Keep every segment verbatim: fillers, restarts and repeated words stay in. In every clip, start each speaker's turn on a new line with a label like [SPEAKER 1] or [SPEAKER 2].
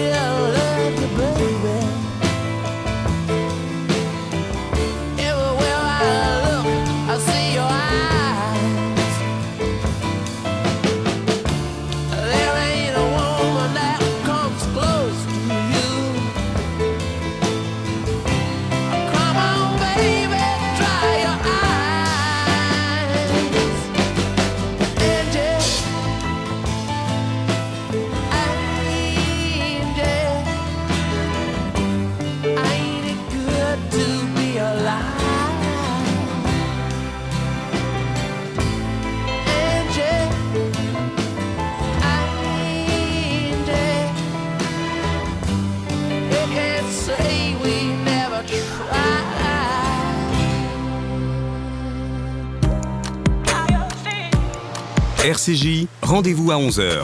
[SPEAKER 1] R C J, rendez-vous à onze heures.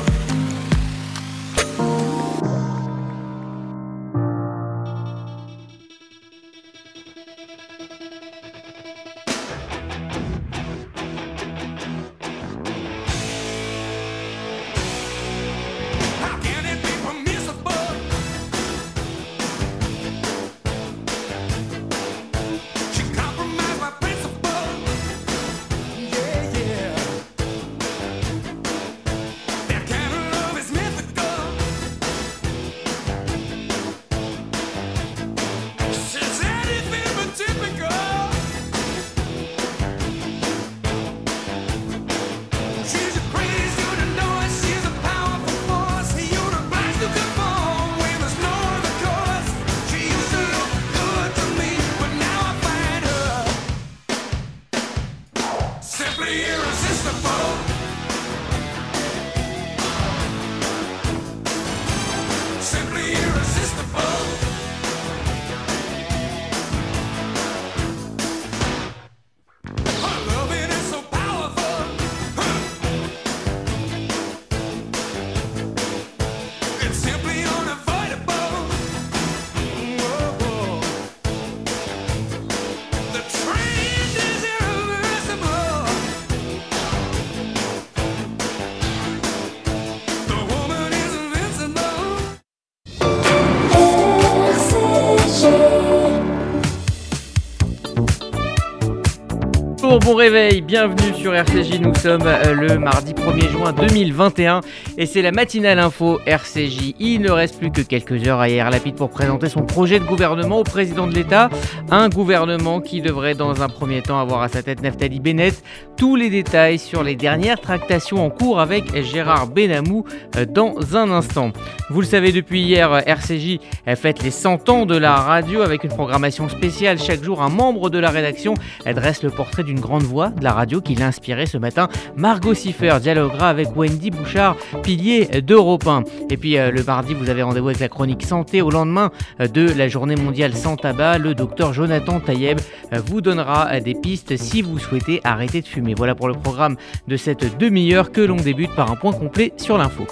[SPEAKER 2] Bon réveil, bienvenue sur R C J, nous sommes le mardi premier juin deux mille vingt et un et c'est la matinale info R C J. Il ne reste plus que quelques heures à Yair Lapid pour présenter son projet de gouvernement au président de l'État. Un gouvernement qui devrait dans un premier temps avoir à sa tête Naftali Bennett. Tous les détails sur les dernières tractations en cours avec Gérard Benamou dans un instant. Vous le savez, depuis hier, R C J fête les cent ans de la radio avec une programmation spéciale. Chaque jour, un membre de la rédaction dresse le portrait d'une grande voix de la radio qui l'a inspiré ce matin. Margot Siffer dialoguera avec Wendy Bouchard, pilier d'Europe un. Et puis euh, le mardi, vous avez rendez-vous avec la chronique santé. Au lendemain euh, de la journée mondiale sans tabac, le docteur Jonathan Tayeb euh, vous donnera euh, des pistes si vous souhaitez arrêter de fumer. Voilà pour le programme de cette demi-heure que l'on débute par un point complet sur l'info.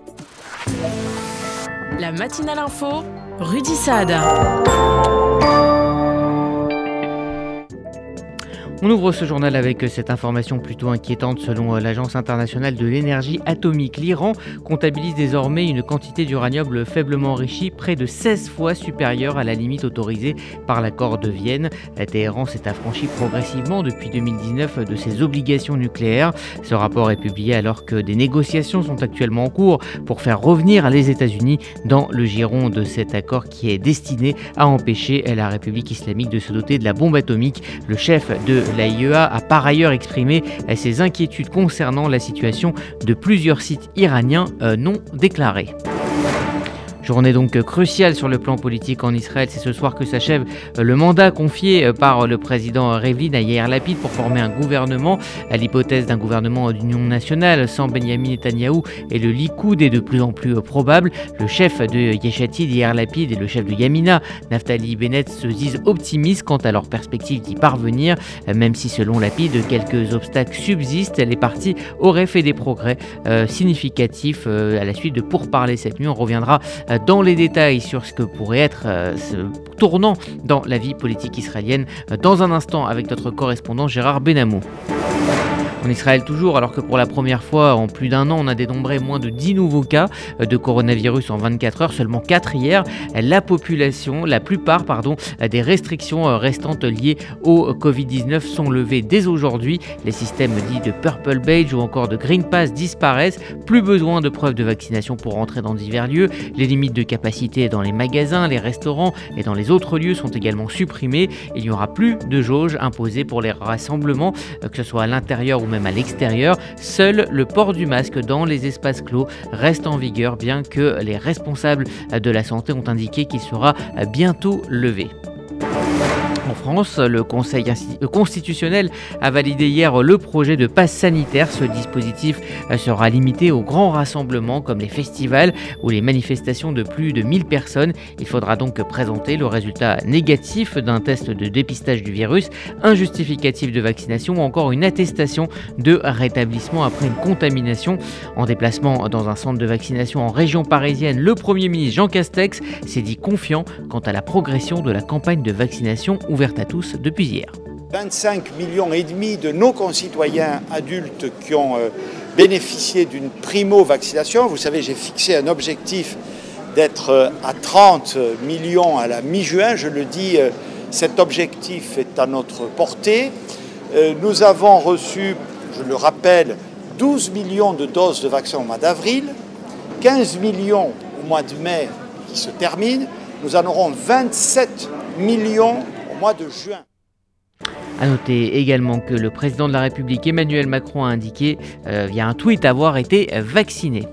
[SPEAKER 3] La matinale info, Rudy Saad.
[SPEAKER 2] On ouvre ce journal avec cette information plutôt inquiétante. Selon l'Agence internationale de l'énergie atomique, l'Iran comptabilise désormais une quantité d'uranium faiblement enrichi près de seize fois supérieure à la limite autorisée par l'accord de Vienne. Téhéran s'est affranchi progressivement depuis deux mille dix-neuf de ses obligations nucléaires. Ce rapport est publié alors que des négociations sont actuellement en cours pour faire revenir les États-Unis dans le giron de cet accord qui est destiné à empêcher la République islamique de se doter de la bombe atomique. Le chef de l'A I E A a par ailleurs exprimé ses inquiétudes concernant la situation de plusieurs sites iraniens non déclarés. Journée donc cruciale sur le plan politique en Israël. C'est ce soir que s'achève le mandat confié par le président Rivlin à Yair Lapid pour former un gouvernement. L'hypothèse d'un gouvernement d'union nationale sans Benyamin Netanyahou et le Likoud est de plus en plus probable. Le chef de Yesh Atid, Yair Lapid, et le chef de Yamina, Naftali Bennett, se disent optimistes quant à leur perspective d'y parvenir. Même si selon Lapid, quelques obstacles subsistent, les partis auraient fait des progrès euh, significatifs euh, à la suite de pourparlers cette nuit. On reviendra euh, dans les détails sur ce que pourrait être euh, ce tournant dans la vie politique israélienne euh, dans un instant avec notre correspondant Gérard Benamou. En Israël toujours, alors que pour la première fois en plus d'un an, on a dénombré moins de dix nouveaux cas de coronavirus en vingt-quatre heures, seulement quatre hier. La population, la plupart pardon, des restrictions restantes liées au covid dix-neuf sont levées dès aujourd'hui. Les systèmes dits de Purple Badge ou encore de Green Pass disparaissent. Plus besoin de preuves de vaccination pour rentrer dans divers lieux. Les limites de capacité dans les magasins, les restaurants et dans les autres lieux sont également supprimées. Il n'y aura plus de jauge imposée pour les rassemblements, que ce soit à l'intérieur ou même à l'extérieur. Seul le port du masque dans les espaces clos reste en vigueur, bien que les responsables de la santé ont indiqué qu'il sera bientôt levé. En France, le Conseil constitutionnel a validé hier le projet de passe sanitaire. Ce dispositif sera limité aux grands rassemblements comme les festivals ou les manifestations de plus de mille personnes. Il faudra donc présenter le résultat négatif d'un test de dépistage du virus, un justificatif de vaccination ou encore une attestation de rétablissement après une contamination. En déplacement dans un centre de vaccination en région parisienne, le Premier ministre Jean Castex s'est dit confiant quant à la progression de la campagne de vaccination ouverte à tous depuis hier.
[SPEAKER 4] vingt-cinq millions et demi de nos concitoyens adultes qui ont euh, bénéficié d'une primo-vaccination. Vous savez, j'ai fixé un objectif d'être euh, à trente millions à la mi-juin. Je le dis, euh, cet objectif est à notre portée. Euh, nous avons reçu, je le rappelle, douze millions de doses de vaccins au mois d'avril, quinze millions au mois de mai qui se termine. Nous en aurons vingt-sept millions au mois de juin.
[SPEAKER 2] A noter également que le président de la République Emmanuel Macron a indiqué euh, via un tweet avoir été vacciné.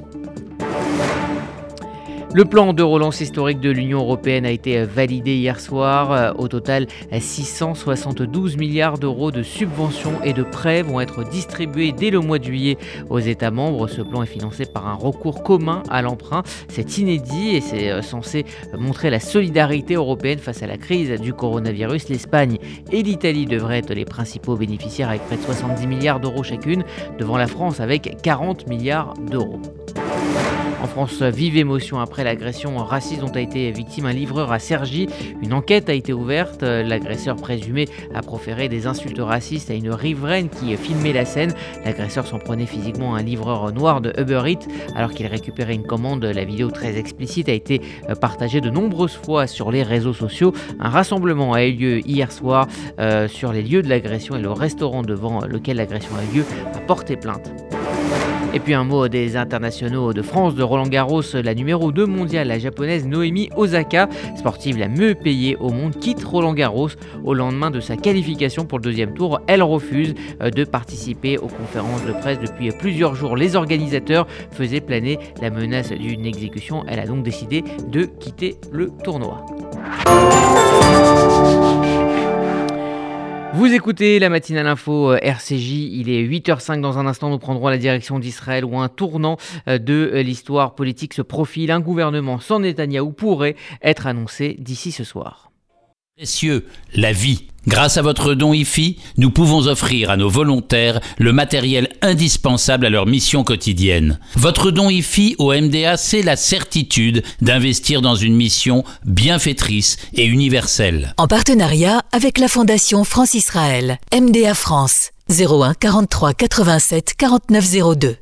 [SPEAKER 2] Le plan de relance historique de l'Union européenne a été validé hier soir. Au total, six cent soixante-douze milliards d'euros de subventions et de prêts vont être distribués dès le mois de juillet aux États membres. Ce plan est financé par un recours commun à l'emprunt. C'est inédit et c'est censé montrer la solidarité européenne face à la crise du coronavirus. L'Espagne et l'Italie devraient être les principaux bénéficiaires avec près de soixante-dix milliards d'euros chacune, devant la France avec quarante milliards d'euros. En France, vive émotion après l'agression raciste dont a été victime un livreur à Cergy. Une enquête a été ouverte. L'agresseur présumé a proféré des insultes racistes à une riveraine qui filmait la scène. L'agresseur s'en prenait physiquement à un livreur noir de Uber Eats alors qu'il récupérait une commande. La vidéo très explicite a été partagée de nombreuses fois sur les réseaux sociaux. Un rassemblement a eu lieu hier soir euh, sur les lieux de l'agression et le restaurant devant lequel l'agression a eu lieu a porté plainte. Et puis un mot des internationaux de France, de Roland-Garros, la numéro deux mondiale, la japonaise Naomi Osaka, sportive la mieux payée au monde, quitte Roland-Garros au lendemain de sa qualification pour le deuxième tour. Elle refuse de participer aux conférences de presse depuis plusieurs jours. Les organisateurs faisaient planer la menace d'une exécution. Elle a donc décidé de quitter le tournoi. Vous écoutez la matinale info R C J, il est huit heures cinq. Dans un instant, nous prendrons la direction d'Israël où un tournant de l'histoire politique se profile. Un gouvernement sans Netanyahou pourrait être annoncé d'ici ce soir.
[SPEAKER 5] Précieux, la vie. Grâce à votre don I F I, nous pouvons offrir à nos volontaires le matériel indispensable à leur mission quotidienne. Votre don I F I au M D A, c'est la certitude d'investir dans une mission bienfaitrice et universelle.
[SPEAKER 6] En partenariat avec la Fondation France-Israël, M D A France, zéro un quarante-trois quatre-vingt-sept quarante-neuf zéro deux.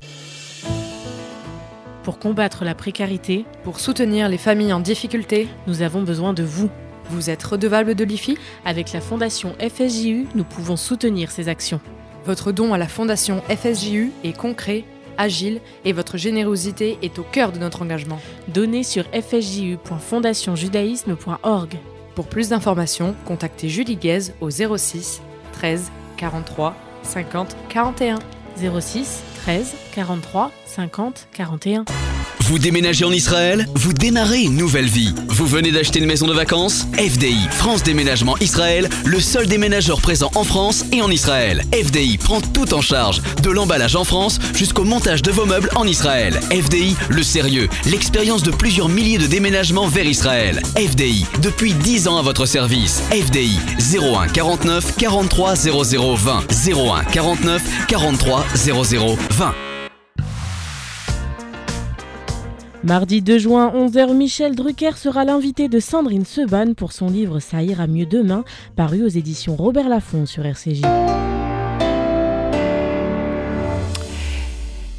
[SPEAKER 3] Pour combattre la précarité,
[SPEAKER 7] pour soutenir les familles en difficulté,
[SPEAKER 3] nous avons besoin de vous.
[SPEAKER 7] Vous êtes redevable de l'I F I ?
[SPEAKER 3] Avec la Fondation F S J U, nous pouvons soutenir ces actions.
[SPEAKER 7] Votre don à la Fondation F S J U est concret, agile et votre générosité est au cœur de notre engagement.
[SPEAKER 3] Donnez sur f s j u point fondation judaïsme point org.
[SPEAKER 7] Pour plus d'informations, contactez Julie Guez au zéro six treize quarante-trois cinquante quarante et un.
[SPEAKER 3] zéro six treize quarante-trois cinquante quarante et un.
[SPEAKER 1] Vous déménagez en Israël ? Vous démarrez une nouvelle vie. Vous venez d'acheter une maison de vacances ? F D I, France Déménagement Israël, le seul déménageur présent en France et en Israël. F D I prend tout en charge, de l'emballage en France jusqu'au montage de vos meubles en Israël. F D I, le sérieux, l'expérience de plusieurs milliers de déménagements vers Israël. F D I, depuis dix ans à votre service. F D I, zéro un quarante-neuf quarante-trois zéro zéro vingt. zéro un quarante-neuf quarante-trois zéro zéro vingt.
[SPEAKER 3] Mardi deux juin, onze heures, Michel Drucker sera l'invité de Sandrine Seban pour son livre « Ça ira mieux demain », paru aux éditions Robert Laffont sur R C J.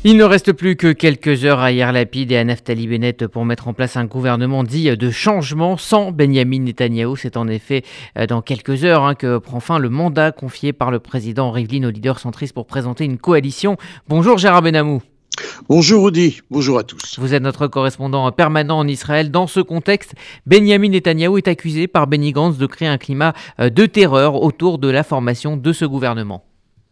[SPEAKER 2] Il ne reste plus que quelques heures à Yair Lapid et à Naftali Bennett pour mettre en place un gouvernement dit de changement sans Benyamin Netanyahou. C'est en effet dans quelques heures hein, que prend fin le mandat confié par le président Rivlin au leader centriste pour présenter une coalition. Bonjour Gérard Benamou.
[SPEAKER 8] Bonjour Rudy, bonjour à tous.
[SPEAKER 2] Vous êtes notre correspondant permanent en Israël. Dans ce contexte, Benyamin Netanyahou est accusé par Benny Gantz de créer un climat de terreur autour de la formation de ce gouvernement.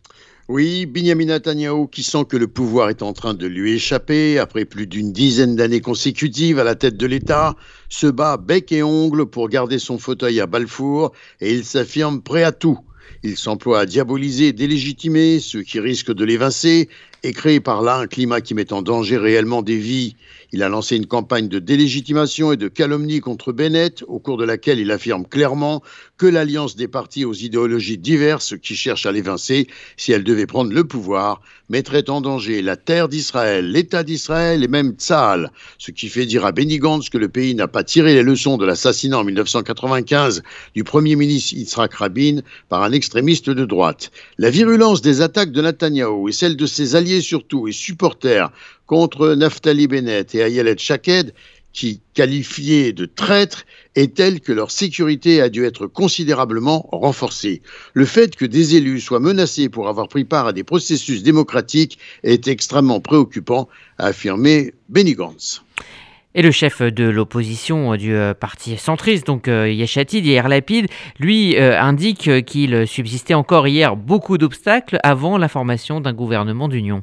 [SPEAKER 8] Oui, Benyamin Netanyahou, qui sent que le pouvoir est en train de lui échapper, après plus d'une dizaine d'années consécutives à la tête de l'État, se bat bec et ongle pour garder son fauteuil à Balfour et il s'affirme prêt à tout. Il s'emploie à diaboliser et délégitimer ceux qui risquent de l'évincer et créer par là un climat qui met en danger réellement des vies. Il a lancé une campagne de délégitimation et de calomnie contre Bennett, au cours de laquelle il affirme clairement que l'alliance des partis aux idéologies diverses qui cherchent à l'évincer, si elle devait prendre le pouvoir, mettrait en danger la terre d'Israël, l'État d'Israël et même Tsahal. Ce qui fait dire à Benny Gantz que le pays n'a pas tiré les leçons de l'assassinat en dix-neuf cent quatre-vingt-quinze du premier ministre Yitzhak Rabin par un extrémiste de droite. La virulence des attaques de Netanyahou et celle de ses alliés surtout et supporters contre Naftali Bennett et Ayelet Shaked, qui qualifiés de traîtres, est telle que leur sécurité a dû être considérablement renforcée. Le fait que des élus soient menacés pour avoir pris part à des processus démocratiques est extrêmement préoccupant, a affirmé Benny Gantz.
[SPEAKER 2] Et le chef de l'opposition du parti centriste, donc Yesh Atid, Yair Lapid, lui euh, indique qu'il subsistait encore hier beaucoup d'obstacles avant la formation d'un gouvernement d'union.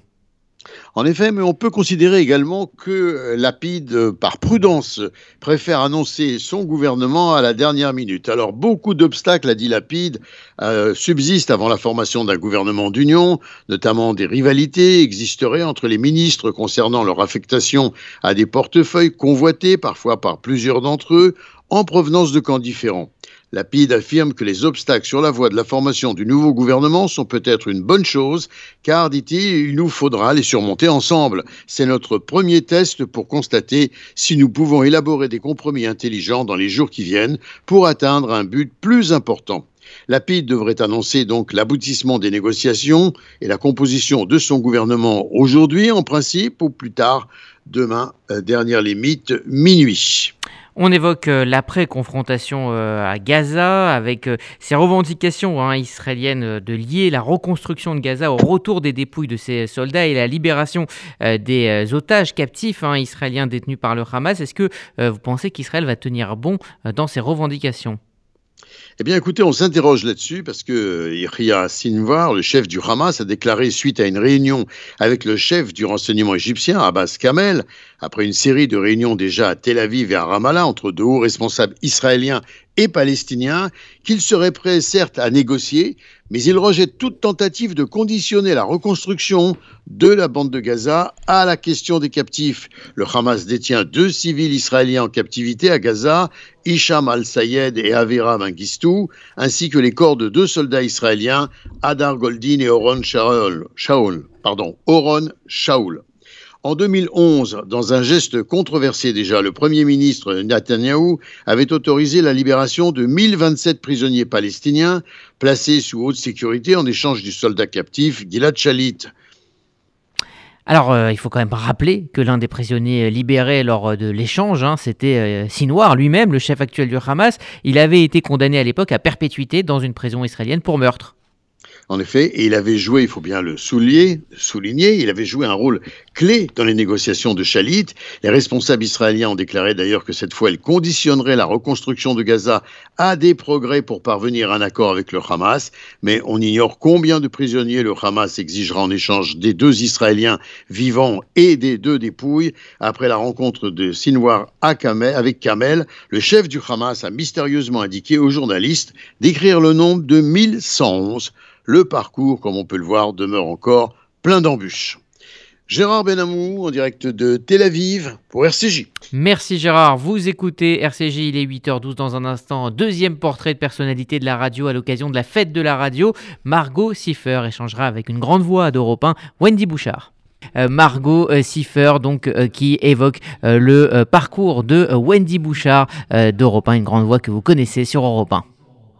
[SPEAKER 8] En effet, mais on peut considérer également que Lapid, par prudence, préfère annoncer son gouvernement à la dernière minute. Alors, beaucoup d'obstacles, a dit Lapid, euh, subsistent avant la formation d'un gouvernement d'union, notamment des rivalités existeraient entre les ministres concernant leur affectation à des portefeuilles convoités, parfois par plusieurs d'entre eux, en provenance de camps différents. Lapid affirme que les obstacles sur la voie de la formation du nouveau gouvernement sont peut-être une bonne chose, car, dit-il, il nous faudra les surmonter ensemble. C'est notre premier test pour constater si nous pouvons élaborer des compromis intelligents dans les jours qui viennent pour atteindre un but plus important. Lapid devrait annoncer donc l'aboutissement des négociations et la composition de son gouvernement aujourd'hui, en principe, ou plus tard, demain, euh, dernière limite, minuit.
[SPEAKER 2] On évoque l'après-confrontation à Gaza avec ces revendications hein, israéliennes de lier la reconstruction de Gaza au retour des dépouilles de ces soldats et la libération des otages captifs hein, israéliens détenus par le Hamas. Est-ce que vous pensez qu'Israël va tenir bon dans ces revendications ?
[SPEAKER 8] Eh bien, écoutez, on s'interroge là-dessus parce que Yahya Sinwar, le chef du Hamas, a déclaré suite à une réunion avec le chef du renseignement égyptien, Abbas Kamel, après une série de réunions déjà à Tel Aviv et à Ramallah entre de hauts responsables israéliens et palestiniens, qu'il serait prêt certes à négocier, mais il rejette toute tentative de conditionner la reconstruction de la bande de Gaza à la question des captifs. Le Hamas détient deux civils israéliens en captivité à Gaza, Hicham al-Sayed et Avira Mengistou, ainsi que les corps de deux soldats israéliens, Hadar Goldin et Oron Shaul. Shaul, pardon, Oron Shaul. En deux mille onze, dans un geste controversé déjà, le Premier ministre Netanyahou avait autorisé la libération de mille vingt-sept prisonniers palestiniens placés sous haute sécurité en échange du soldat captif Gilad Shalit.
[SPEAKER 2] Alors, euh, il faut quand même rappeler que l'un des prisonniers libérés lors de l'échange, hein, c'était euh, Sinwar lui-même, le chef actuel du Hamas. Il avait été condamné à l'époque à perpétuité dans une prison israélienne pour meurtre.
[SPEAKER 8] En effet, et il avait joué, il faut bien le souligner, souligner, il avait joué un rôle clé dans les négociations de Shalit. Les responsables israéliens ont déclaré d'ailleurs que cette fois, ils conditionneraient la reconstruction de Gaza à des progrès pour parvenir à un accord avec le Hamas. Mais on ignore combien de prisonniers le Hamas exigera en échange des deux Israéliens vivants et des deux dépouilles. Après la rencontre de Sinwar avec Kamel, le chef du Hamas a mystérieusement indiqué aux journalistes d'écrire le nombre de mille cent onze. Le parcours, comme on peut le voir, demeure encore plein d'embûches. Gérard Benamou, en direct de Tel Aviv, pour R C J.
[SPEAKER 2] Merci Gérard, vous écoutez R C J, il est huit heures douze dans un instant. Deuxième portrait de personnalité de la radio à l'occasion de la fête de la radio. Margot Siffer échangera avec une grande voix d'Europe un, Wendy Bouchard. Euh, Margot euh, Siffer, donc, euh, qui évoque euh, le euh, parcours de euh, Wendy Bouchard euh, d'Europe un, une grande voix que vous connaissez sur Europe un.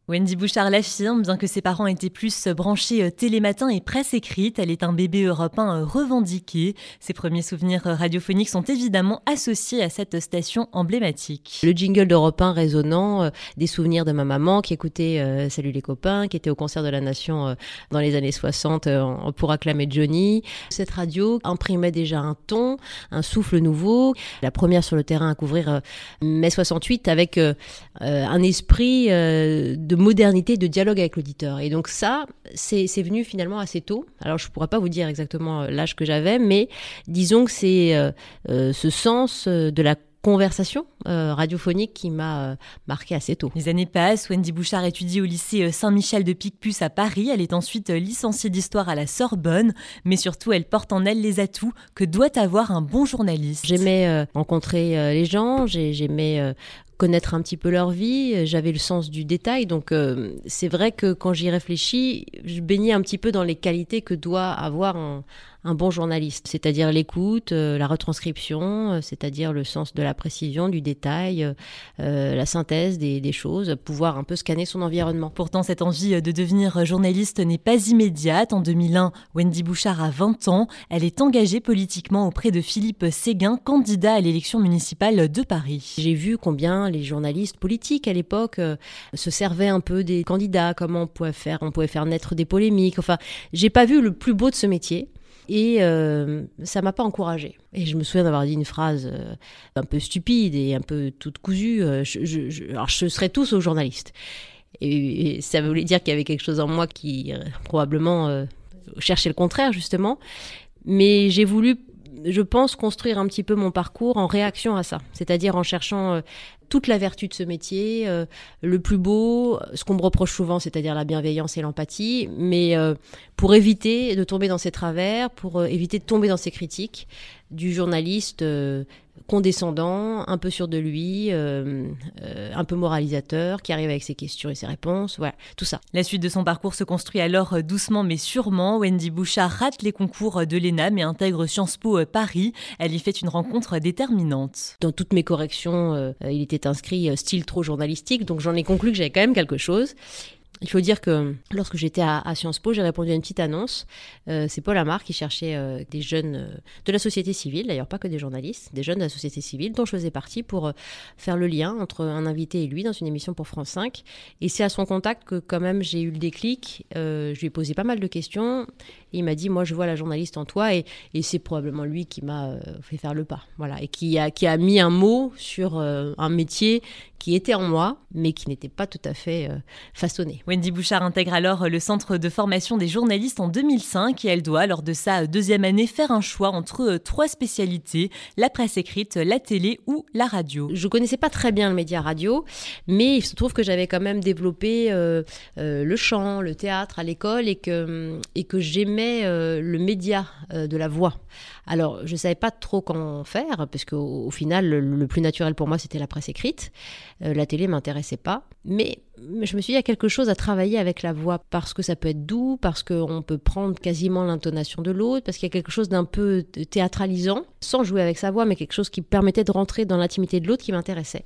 [SPEAKER 9] Wendy Bouchard l'affirme, bien que ses parents étaient plus branchés télématin et presse écrite, elle est un bébé Europe un revendiqué. Ses premiers souvenirs radiophoniques sont évidemment associés à cette station emblématique.
[SPEAKER 10] Le jingle d'Europe un résonnant, euh, des souvenirs de ma maman qui écoutait euh, Salut les copains, qui était au concert de la Nation euh, dans les années soixante euh, pour acclamer Johnny. Cette radio imprimait déjà un ton, un souffle nouveau. La première sur le terrain à couvrir euh, mai soixante-huit avec euh, euh, un esprit euh, de de modernité, de dialogue avec l'auditeur. Et donc ça, c'est, c'est venu finalement assez tôt. Alors je ne pourrais pas vous dire exactement l'âge que j'avais, mais disons que c'est euh, euh, ce sens de la conversation euh, radiophonique qui m'a euh, marqué assez tôt.
[SPEAKER 9] Les années passent, Wendy Bouchard étudie au lycée Saint-Michel de Picpus à Paris. Elle est ensuite licenciée d'histoire à la Sorbonne, mais surtout elle porte en elle les atouts que doit avoir un bon journaliste.
[SPEAKER 10] J'aimais euh, rencontrer euh, les gens, j'ai, j'aimais euh, connaître un petit peu leur vie, j'avais le sens du détail, donc euh, c'est vrai que quand j'y réfléchis, je baignais un petit peu dans les qualités que doit avoir un, un bon journaliste, c'est-à-dire l'écoute, euh, la retranscription, euh, c'est-à-dire le sens de la précision, du détail, euh, la synthèse des, des choses, pouvoir un peu scanner son environnement.
[SPEAKER 9] Pourtant, cette envie de devenir journaliste n'est pas immédiate. En deux mille un, Wendy Bouchard a vingt ans. Elle est engagée politiquement auprès de Philippe Séguin, candidat à l'élection municipale de Paris.
[SPEAKER 10] J'ai vu combien les journalistes politiques à l'époque euh, se servaient un peu des candidats, comment on pouvait faire, on pouvait faire naître des polémiques. Enfin, j'ai pas vu le plus beau de ce métier. Et euh, ça m'a pas encouragée. Et je me souviens d'avoir dit une phrase euh, un peu stupide et un peu toute cousue. Euh, je, je, je, alors, je serais tous aux journalistes. Et, et ça voulait dire qu'il y avait quelque chose en moi qui, euh, probablement, euh, cherchait le contraire, justement. Mais j'ai voulu, je pense, construire un petit peu mon parcours en réaction à ça. C'est-à-dire en cherchant... Euh, toute la vertu de ce métier, euh, le plus beau, ce qu'on me reproche souvent, c'est-à-dire la bienveillance et l'empathie, mais euh, pour éviter de tomber dans ces travers, pour euh, éviter de tomber dans ces critiques du journaliste euh, condescendant, un peu sûr de lui, euh, euh, un peu moralisateur, qui arrive avec ses questions et ses réponses, voilà, tout ça.
[SPEAKER 9] La suite de son parcours se construit alors doucement mais sûrement. Wendy Bouchard rate les concours de l'E N A M et intègre Sciences Po Paris. Elle y fait une rencontre déterminante.
[SPEAKER 10] Dans toutes mes corrections, euh, il était inscrit style trop journalistique, donc j'en ai conclu que j'avais quand même quelque chose. Il faut dire que lorsque j'étais à, à Sciences Po, j'ai répondu à une petite annonce. Euh, c'est Paul Amar qui cherchait euh, des jeunes euh, de la société civile, d'ailleurs pas que des journalistes, des jeunes de la société civile dont je faisais partie pour euh, faire le lien entre un invité et lui dans une émission pour France cinq. Et c'est à son contact que quand même j'ai eu le déclic. Euh, je lui ai posé pas mal de questions. Et il m'a dit, moi je vois la journaliste en toi. Et, et c'est probablement lui qui m'a euh, fait faire le pas. Voilà. Et qui a, qui a mis un mot sur euh, un métier qui était en moi, mais qui n'était pas tout à fait euh, façonné.
[SPEAKER 9] Wendy Bouchard intègre alors le centre de formation des journalistes en deux mille cinq et elle doit, lors de sa deuxième année, faire un choix entre trois spécialités, la presse écrite, la télé ou la radio.
[SPEAKER 10] Je connaissais pas très bien le média radio, mais il se trouve que j'avais quand même développé euh, euh, le chant, le théâtre à l'école et que, et que j'aimais euh, le média euh, de la voix. Alors, je ne savais pas trop comment faire, parce qu'au au final, le, le plus naturel pour moi, c'était la presse écrite. Euh, la télé ne m'intéressait pas. Mais je me suis dit, il y a quelque chose à travailler avec la voix, parce que ça peut être doux, parce qu'on peut prendre quasiment l'intonation de l'autre, parce qu'il y a quelque chose d'un peu théâtralisant, sans jouer avec sa voix, mais quelque chose qui permettait de rentrer dans l'intimité de l'autre qui m'intéressait.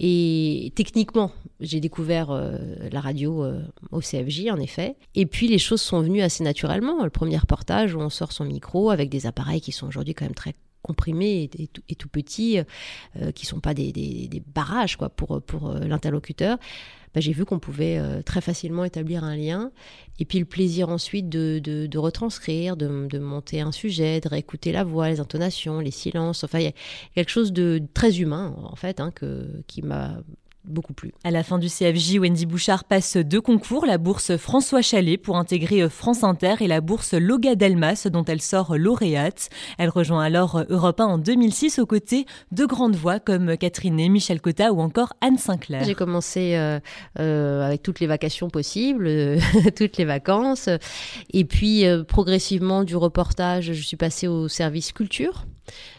[SPEAKER 10] Et techniquement, j'ai découvert euh, la radio euh, au C F J, en effet. Et puis, les choses sont venues assez naturellement. Le premier reportage où on sort son micro avec des appareils qui sont aujourd'hui quand même très comprimés et, et, tout, et tout petits, euh, qui ne sont pas des, des, des barrages quoi, pour, pour euh, l'interlocuteur. Bah, j'ai vu qu'on pouvait euh, très facilement établir un lien. Et puis le plaisir ensuite de, de, de retranscrire, de, de monter un sujet, de réécouter la voix, les intonations, les silences. Enfin, il y a quelque chose de très humain, en fait, hein, que, qui m'a beaucoup plu.
[SPEAKER 9] À la fin du C F J, Wendy Bouchard passe deux concours, la bourse François Chalais pour intégrer France Inter et la bourse Loga Delmas dont elle sort lauréate. Elle rejoint alors Europe un en deux mille six aux côtés de grandes voix comme Catherine Ney, Michel Cotta ou encore Anne Sinclair.
[SPEAKER 10] J'ai commencé euh, euh, avec toutes les vacations possibles, euh, toutes les vacances. Et puis euh, progressivement du reportage, je suis passée au service culture.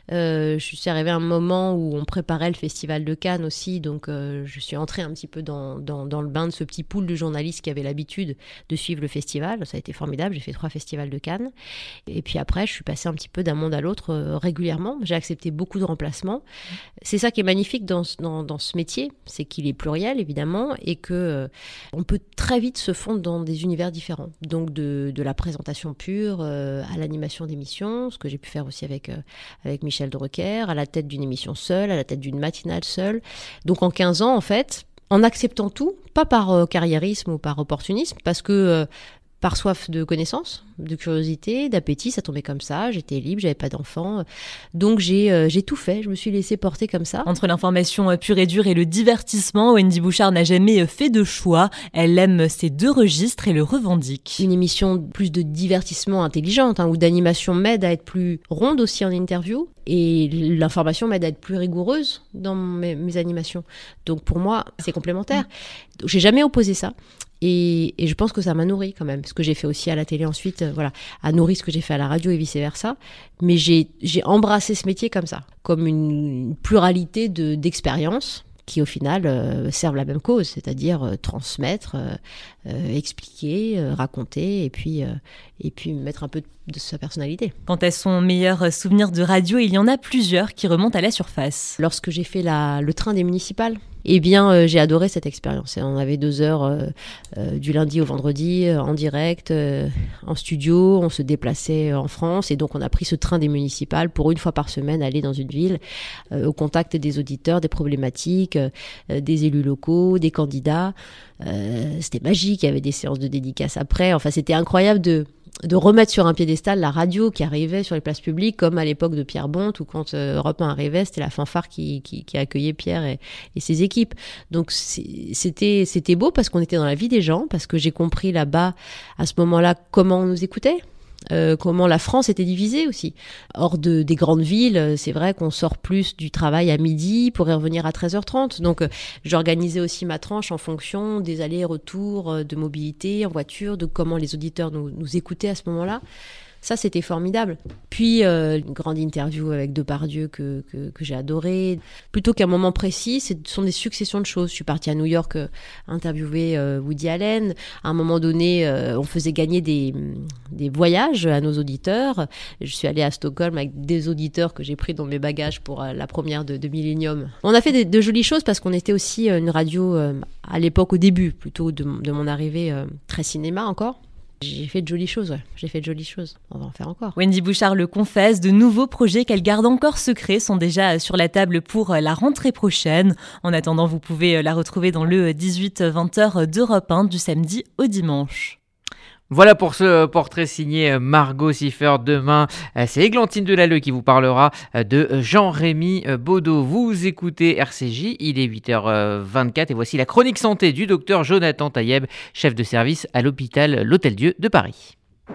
[SPEAKER 10] Euh, je suis arrivée à un moment où on préparait le Festival de Cannes aussi, donc euh, je suis entrée un petit peu dans, dans, dans le bain de ce petit pool de journalistes qui avaient l'habitude de suivre le festival. Ça a été formidable, j'ai fait trois festivals de Cannes. Et puis après, je suis passée un petit peu d'un monde à l'autre euh, régulièrement. J'ai accepté beaucoup de remplacements. C'est ça qui est magnifique dans, dans, dans ce métier, c'est qu'il est pluriel évidemment et que euh, on peut très vite se fondre dans des univers différents. Donc de, de la présentation pure euh, à l'animation d'émissions, ce que j'ai pu faire aussi avec, euh, avec Michel Drucker, à la tête d'une émission seule, à la tête d'une matinale seule. Donc en quinze ans, en fait, en acceptant tout, pas par euh, carriérisme ou par opportunisme, parce que euh, par soif de connaissances, de curiosité, d'appétit, ça tombait comme ça, j'étais libre, j'avais pas d'enfant, donc j'ai, euh, j'ai tout fait, je me suis laissée porter comme ça.
[SPEAKER 9] Entre l'information pure et dure et le divertissement, Wendy Bouchard n'a jamais fait de choix, elle aime ces deux registres et le revendique.
[SPEAKER 10] Une émission plus de divertissement intelligente, hein, ou d'animation m'aide à être plus ronde aussi en interview, et l'information m'aide à être plus rigoureuse dans mes, mes animations. Donc pour moi, c'est complémentaire. Donc, j'ai jamais opposé ça. Et, et je pense que ça m'a nourri quand même. Ce que j'ai fait aussi à la télé ensuite, euh, voilà, a nourri ce que j'ai fait à la radio et vice-versa. Mais j'ai, j'ai embrassé ce métier comme ça, comme une, une pluralité de, d'expériences qui au final euh, servent la même cause, c'est-à-dire euh, transmettre, euh, euh, expliquer, euh, raconter et puis, euh, et puis mettre un peu de, de sa personnalité.
[SPEAKER 9] Quant à son meilleur souvenir de radio, il y en a plusieurs qui remontent à la surface.
[SPEAKER 10] Lorsque j'ai fait la, le train des municipales, eh bien, euh, j'ai adoré cette expérience. On avait deux heures euh, euh, du lundi au vendredi, euh, en direct, euh, en studio. On se déplaçait en France et donc on a pris ce train des municipales pour une fois par semaine aller dans une ville euh, au contact des auditeurs, des problématiques, euh, des élus locaux, des candidats. Euh, c'était magique, il y avait des séances de dédicaces après. Enfin, c'était incroyable de... de remettre sur un piédestal la radio qui arrivait sur les places publiques, comme à l'époque de Pierre Bonte, ou quand euh, Europe un arrivait, c'était la fanfare qui, qui, qui accueillait Pierre et, et ses équipes. Donc c'est, c'était, c'était beau parce qu'on était dans la vie des gens, parce que j'ai compris là-bas, à ce moment-là, comment on nous écoutait. Euh, comment la France était divisée aussi. Hors de, des grandes villes, c'est vrai qu'on sort plus du travail à midi pour y revenir à treize heures trente. Donc euh, j'organisais aussi ma tranche en fonction des allers-retours euh, de mobilité en voiture, de comment les auditeurs nous, nous écoutaient à ce moment-là. Ça, c'était formidable. Puis, euh, une grande interview avec Depardieu que, que, que j'ai adoré. Plutôt qu'un moment précis, ce sont des successions de choses. Je suis partie à New York euh, interviewer euh, Woody Allen. À un moment donné, euh, on faisait gagner des, des voyages à nos auditeurs. Je suis allée à Stockholm avec des auditeurs que j'ai pris dans mes bagages pour euh, la première de, de Millennium. On a fait de, de jolies choses parce qu'on était aussi une radio, euh, à l'époque, au début, plutôt de, de mon arrivée, euh, très cinéma encore. J'ai fait de jolies choses, ouais. J'ai fait de jolies choses. On va en faire encore.
[SPEAKER 9] Wendy Bouchard le confesse, de nouveaux projets qu'elle garde encore secrets sont déjà sur la table pour la rentrée prochaine. En attendant, vous pouvez la retrouver dans le dix-huit vingt heures d'Europe un du samedi au dimanche.
[SPEAKER 2] Voilà pour ce portrait signé Margot Siffer. Demain, c'est Églantine Delalleux qui vous parlera de Jean-Rémy Baudot. Vous écoutez R C J, il est huit heures vingt-quatre et voici la chronique santé du docteur Jonathan Taïeb, chef de service à l'hôpital L'Hôtel-Dieu de Paris.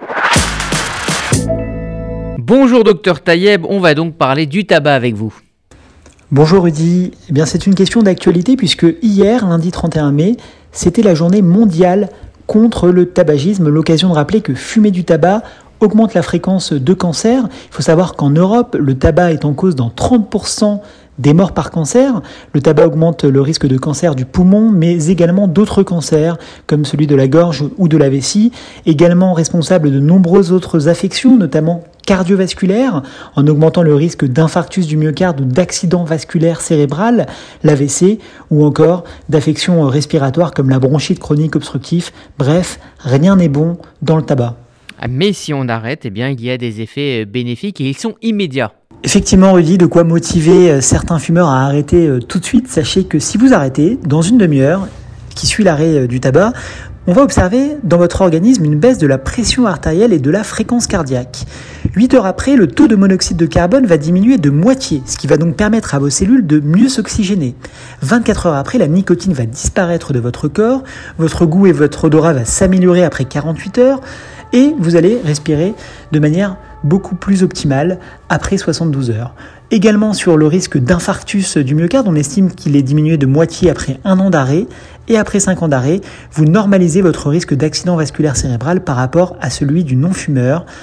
[SPEAKER 2] Bonjour docteur Taïeb, on va donc parler du tabac avec vous.
[SPEAKER 11] Bonjour Rudy, eh bien, c'est une question d'actualité puisque hier, lundi trente et un mai, c'était la journée mondiale contre le tabagisme, l'occasion de rappeler que fumer du tabac augmente la fréquence de cancer. Il faut savoir qu'en Europe, le tabac est en cause dans trente pour cent des morts par cancer. Le tabac augmente le risque de cancer du poumon, mais également d'autres cancers, comme celui de la gorge ou de la vessie, également responsable de nombreuses autres affections, notamment cardiovasculaires, en augmentant le risque d'infarctus du myocarde ou d'accident vasculaire cérébral, l'A V C, ou encore d'affections respiratoires comme la bronchite chronique obstructive. Bref, rien n'est bon dans le tabac.
[SPEAKER 2] Mais si on arrête, eh bien, il y a des effets bénéfiques et ils sont immédiats.
[SPEAKER 11] Effectivement, Rudy, de quoi motiver certains fumeurs à arrêter tout de suite. Sachez que si vous arrêtez, dans une demi-heure, qui suit l'arrêt du tabac, on va observer dans votre organisme une baisse de la pression artérielle et de la fréquence cardiaque. huit heures après, le taux de monoxyde de carbone va diminuer de moitié, ce qui va donc permettre à vos cellules de mieux s'oxygéner. vingt-quatre heures après, la nicotine va disparaître de votre corps, votre goût et votre odorat va s'améliorer après quarante-huit heures, et vous allez respirer de manière beaucoup plus optimale après soixante-douze heures. Également sur le risque d'infarctus du myocarde, on estime qu'il est diminué de moitié après un an d'arrêt, et après cinq ans d'arrêt, vous normalisez votre risque d'accident vasculaire cérébral par rapport à celui du non-fumeur.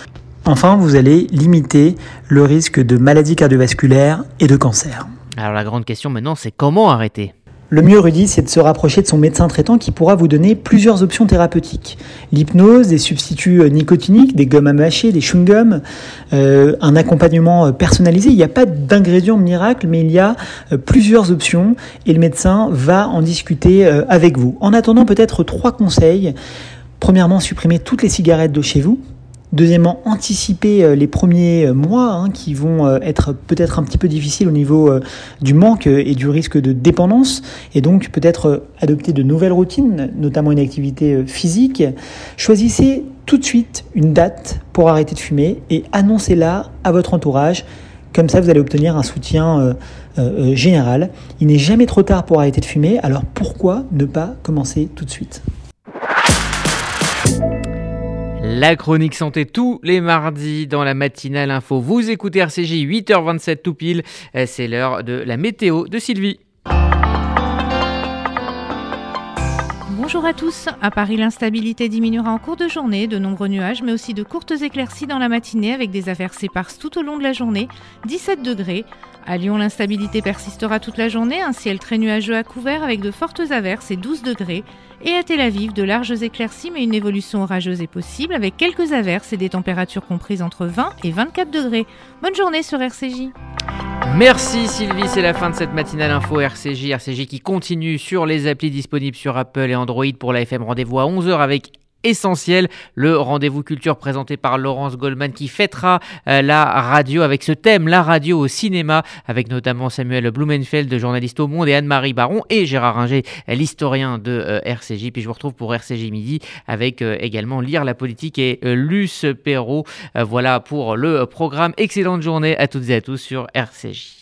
[SPEAKER 11] Enfin, vous allez limiter le risque de maladies cardiovasculaires et de cancer.
[SPEAKER 2] Alors la grande question maintenant, c'est comment arrêter ?
[SPEAKER 11] Le mieux, Rudy, c'est de se rapprocher de son médecin traitant qui pourra vous donner plusieurs options thérapeutiques. L'hypnose, des substituts nicotiniques, des gommes à mâcher, des chewing-gums, euh, un accompagnement personnalisé. Il n'y a pas d'ingrédients miracles, mais il y a euh, plusieurs options et le médecin va en discuter euh, avec vous. En attendant, peut-être trois conseils. Premièrement, supprimer toutes les cigarettes de chez vous. Deuxièmement, anticiper les premiers mois hein, qui vont être peut-être un petit peu difficiles au niveau du manque et du risque de dépendance et donc peut-être adopter de nouvelles routines, notamment une activité physique. Choisissez tout de suite une date pour arrêter de fumer et annoncez-la à votre entourage. Comme ça, vous allez obtenir un soutien euh, euh, général. Il n'est jamais trop tard pour arrêter de fumer, alors pourquoi ne pas commencer tout de suite ?
[SPEAKER 2] La chronique santé tous les mardis dans la matinale info. Vous écoutez R C J, huit heures vingt-sept tout pile. C'est l'heure de la météo de Sylvie.
[SPEAKER 12] Bonjour à tous. À Paris, l'instabilité diminuera en cours de journée. De nombreux nuages, mais aussi de courtes éclaircies dans la matinée avec des averses éparses tout au long de la journée. dix-sept degrés. À Lyon, l'instabilité persistera toute la journée. Un ciel très nuageux à couvert avec de fortes averses et douze degrés. Et à Tel Aviv, de larges éclaircies, mais une évolution orageuse est possible avec quelques averses et des températures comprises entre vingt et vingt-quatre degrés. Bonne journée sur R C J.
[SPEAKER 2] Merci Sylvie, c'est la fin de cette matinale info R C J. R C J qui continue sur les applis disponibles sur Apple et Android pour la F M. Rendez-vous à onze heures avec Essentiel, le rendez-vous culture présenté par Laurence Goldman qui fêtera euh, la radio avec ce thème, la radio au cinéma, avec notamment Samuel Blumenfeld, journaliste au Monde, et Anne-Marie Baron et Gérard Ringer, l'historien de euh, R C J. Puis je vous retrouve pour R C J Midi avec euh, également Lire la politique et euh, Luce Perrault. Euh, voilà pour le programme. Excellente journée à toutes et à tous sur R C J.